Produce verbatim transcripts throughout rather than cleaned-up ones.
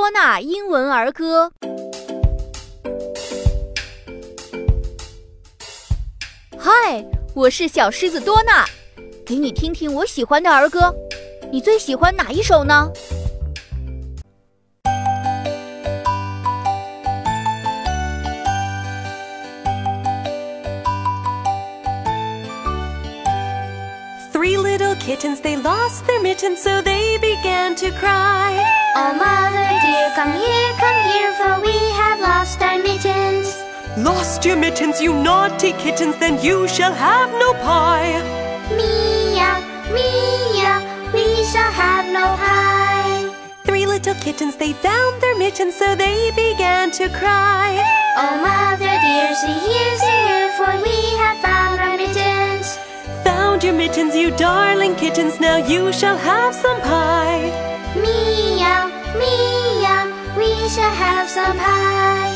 多纳英文儿歌。嗨，我是小狮子多纳，给你听听我喜欢的儿歌。你最喜欢哪一首呢？ Three little kittens, they lost their mittens, so they began to cry. Oh, mother dear, come here, come here, for we have lost our mittens. Lost your mittens, you naughty kittens, then you shall have no pie. Meow, meow, we shall have no pie. Three little kittens, they found their mittens, so they began to cry. Oh, mother dear, see here, see here, for we have found our mittens. Found your mittens, you darling kittens, now you shall have some pie. Meow, meow, we shall have some pie.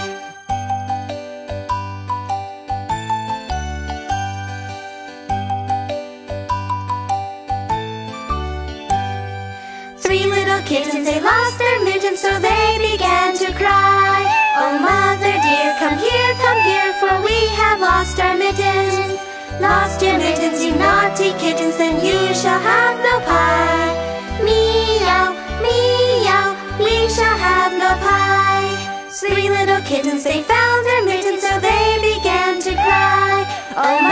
Three little kittens, they lost their mittens, so they began to cry. Oh, mother dear, come here, come here, for we have lost our mittens. Lost your mittens, you naughty kittens, then you shall have no pie. Meow, meow, we shall have no pie. Three little kittens, they found their mittens, so they began to cry. Oh,